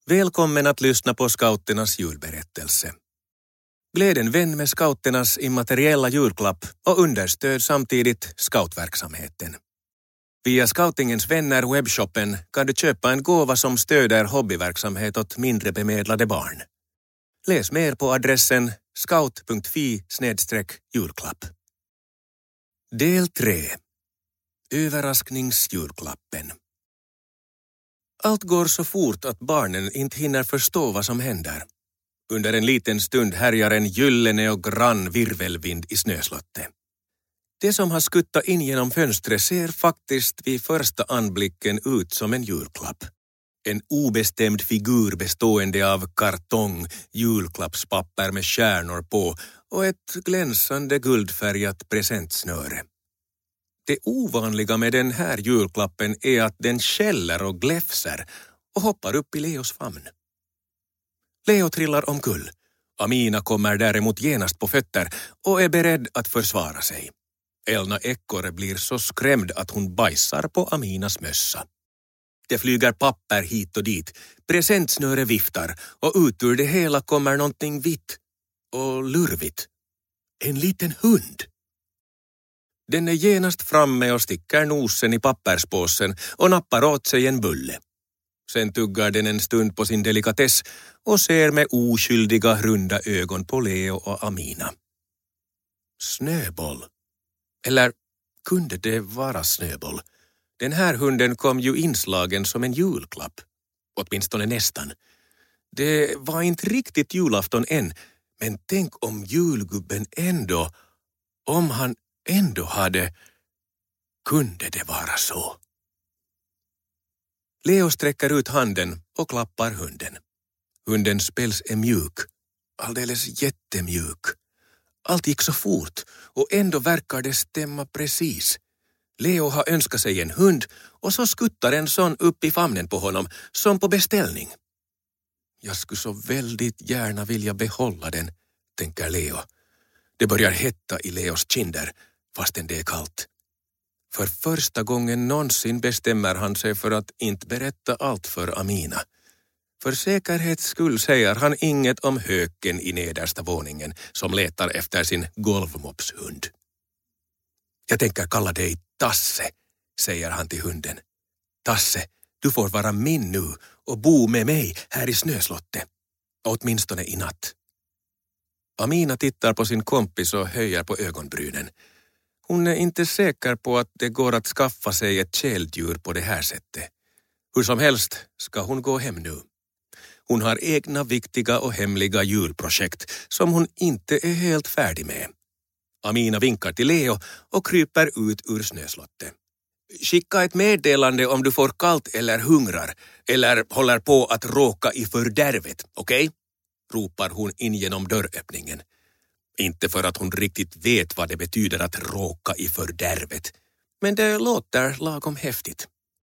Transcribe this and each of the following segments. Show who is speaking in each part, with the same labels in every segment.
Speaker 1: Välkommen att lyssna på Scouternas julberättelse. Gläd en vän med Scouternas immateriella julklapp och understöd samtidigt scoutverksamheten. Via Scoutingens vänner webbshoppen kan du köpa en gåva som stöder hobbyverksamhet åt mindre bemedlade barn. Läs mer på adressen scout.fi/julklapp. Del 3. Överraskningsjulklappen. Allt går så fort att barnen inte hinner förstå vad som händer. Under en liten stund härjar en gyllene och grann virvelvind i snöslottet. Det som har skuttat in genom fönstret ser faktiskt vid första anblicken ut som en julklapp. En obestämd figur bestående av kartong, julklappspapper med stjärnor på och ett glänsande guldfärgat presentsnöre. Det ovanliga med den här julklappen är att den skäller och gläfser och hoppar upp i Leos famn. Leo trillar omkull. Amina kommer däremot genast på fötter och är beredd att försvara sig. Elna Ekorre blir så skrämd att hon bajsar på Aminas mössa. Det flyger papper hit och dit, presentsnöre viftar och ut ur det hela kommer någonting vitt och lurvigt. En liten hund. Den är genast framme och sticker nosen i papperspåsen och nappar åt sig en bulle. Sen tuggar den en stund på sin delikatess och ser med oskyldiga runda ögon på Leo och Amina. Snöboll. Eller kunde det vara Snöboll? Den här hunden kom ju inslagen som en julklapp. Åtminstone nästan. Det var inte riktigt julafton än, men tänk om julgubben ändå, om han ändå hade, kunde det vara så? Leo sträcker ut handen och klappar hunden. Hundens päls är mjuk, alldeles jättemjuk. Allt gick så fort och ändå verkar det stämma precis. Leo har önskat sig en hund och så skuttar en sån upp i famnen på honom som på beställning. Jag skulle så väldigt gärna vilja behålla den, tänker Leo. Det börjar hetta i Leos kinder fastän det är kallt. För första gången någonsin bestämmer han sig för att inte berätta allt för Amina. För säkerhets skull säger han inget om höken i nedersta våningen som letar efter sin golvmopshund. Jag tänker kalla dig Tasse, säger han till hunden. Tasse, du får vara min nu och bo med mig här i snöslottet. Åtminstone i natt. Amina tittar på sin kompis och höjer på ögonbrynen. Hon är inte säker på att det går att skaffa sig ett källdjur på det här sättet. Hur som helst ska hon gå hem nu. Hon har egna viktiga och hemliga julprojekt som hon inte är helt färdig med. Amina vinkar till Leo och kryper ut ur snöslottet. Skicka ett meddelande om du får kallt eller hungrar eller håller på att råka i fördärvet, okej? Ropar hon in genom dörröppningen. Inte för att hon riktigt vet vad det betyder att råka i fördärvet, men det låter lagom häftigt.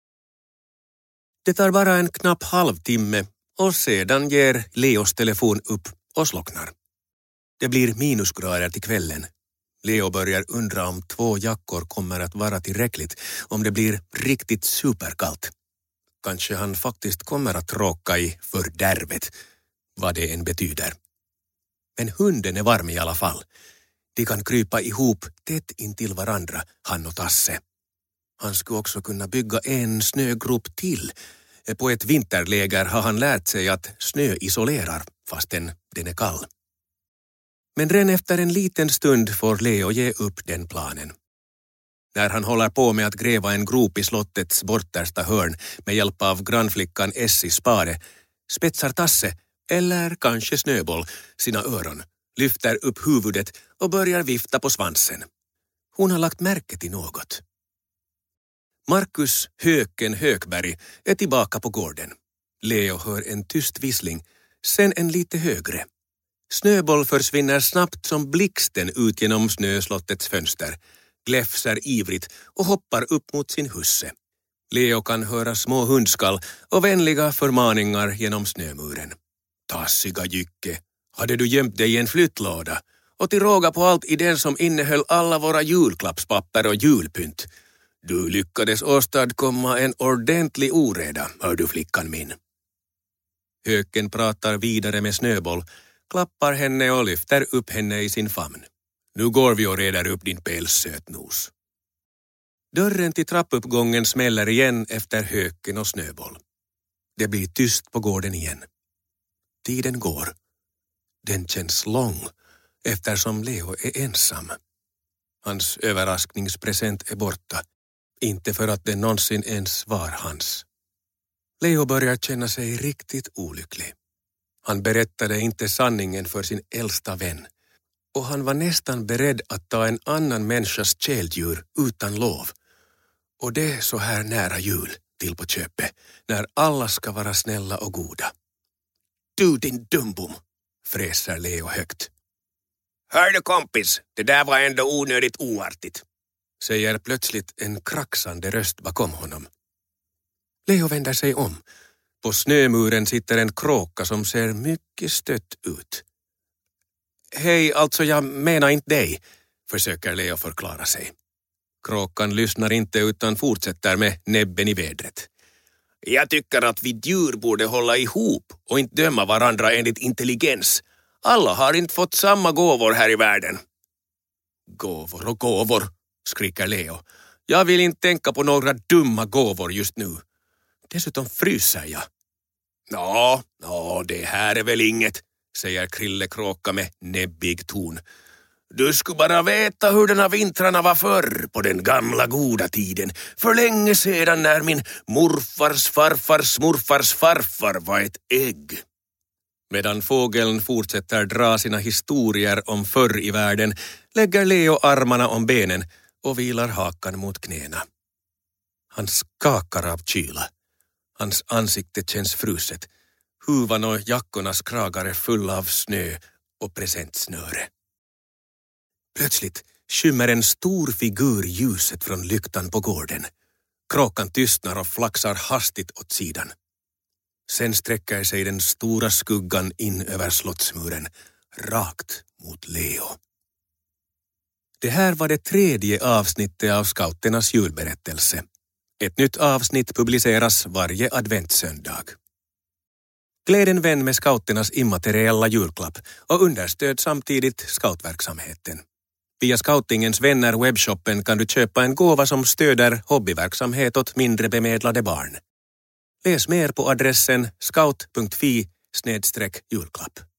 Speaker 1: Det tar bara en knapp halvtimme och sedan ger Leos telefon upp och slocknar. Det blir minusgrader till kvällen. Leo börjar undra om 2 jackor kommer att vara tillräckligt om det blir riktigt superkallt. Kanske han faktiskt kommer att råka i fördärvet, vad det än betyder. Men hunden är varm i alla fall. De kan krypa ihop tätt intill varandra, han och Tasse. Han skulle också kunna bygga en snögrop till. På ett vinterläger har han lärt sig att snö isolerar fastän den är kall. Men redan efter en liten stund får Leo ge upp den planen. När han håller på med att gräva en grop i slottets bortersta hörn med hjälp av grannflickan Essis spade, spetsar Tasse, eller kanske Snöboll, sina öron, lyfter upp huvudet och börjar vifta på svansen. Hon har lagt märke till något. Markus Höken Hökberg är tillbaka på gården. Leo hör en tyst vissling, sen en lite högre. Snöboll försvinner snabbt som blixten ut genom snöslottets fönster, gläfser ivrigt och hoppar upp mot sin husse. Leo kan höra små hundskall och vänliga förmaningar genom snömuren. Tassiga Jycke, hade du gömt dig i en flyttlåda och till råga på allt i den som innehöll alla våra julklappspapper och julpynt. Du lyckades åstadkomma en ordentlig oreda, hör du flickan min. Höken pratar vidare med Snöboll, klappar henne och lyfter upp henne i sin famn. Nu går vi och reder upp din päls, sötnos. Dörren till trappuppgången smäller igen efter Höken och Snöboll. Det blir tyst på gården igen. Tiden går. Den känns lång eftersom Leo är ensam. Hans överraskningspresent är borta. Inte för att den någonsin ens var hans. Leo börjar känna sig riktigt olycklig. Han berättade inte sanningen för sin äldsta vän. Och han var nästan beredd att ta en annan människas källdjur utan lov. Och det så här nära jul till på köpet, när alla ska vara snälla och goda. Du din dumbom, fräser Leo högt.
Speaker 2: Hör du kompis, det där var ändå onödigt oartigt,
Speaker 1: säger plötsligt en kraxande röst bakom honom. Leo vänder sig om. På snömuren sitter en kråka som ser mycket stött ut. Hej, alltså jag menar inte dig, försöker Leo förklara sig. Kråkan lyssnar inte utan fortsätter med näbben i vädret.
Speaker 2: Jag tycker att vi djur borde hålla ihop och inte döma varandra enligt intelligens. Alla har inte fått samma gåvor här i världen.
Speaker 1: Gåvor och gåvor, skriker Leo. Jag vill inte tänka på några dumma gåvor just nu. Dessutom fryser jag.
Speaker 2: Nå, det här är väl inget, säger Krille Kråka med näbbig ton. Du skulle bara veta hur den här vintrarna var förr på den gamla goda tiden. För länge sedan när min morfars farfars morfars farfar var ett ägg.
Speaker 1: Medan fågeln fortsätter dra sina historier om förr i världen lägger Leo armarna om benen och vilar hakan mot knäna. Han skakar av kyla. Hans ansikte känns fruset. Huvan och jackornas kragar är fulla av snö och presentsnöre. Plötsligt skymmer en stor figur ljuset från lyktan på gården. Kråkan tystnar och flaxar hastigt åt sidan. Sen sträcker sig den stora skuggan in över slottsmuren, rakt mot Leo. Det här var det 3:e avsnittet av Scouternas julberättelse. Ett nytt avsnitt publiceras varje adventssöndag. Gläd en vän med Scouternas immateriella julklapp och understöd samtidigt scoutverksamheten. Via Scoutingens vänner webbshoppen kan du köpa en gåva som stöder hobbyverksamhet åt mindre bemedlade barn. Läs mer på adressen scout.fi/julklapp.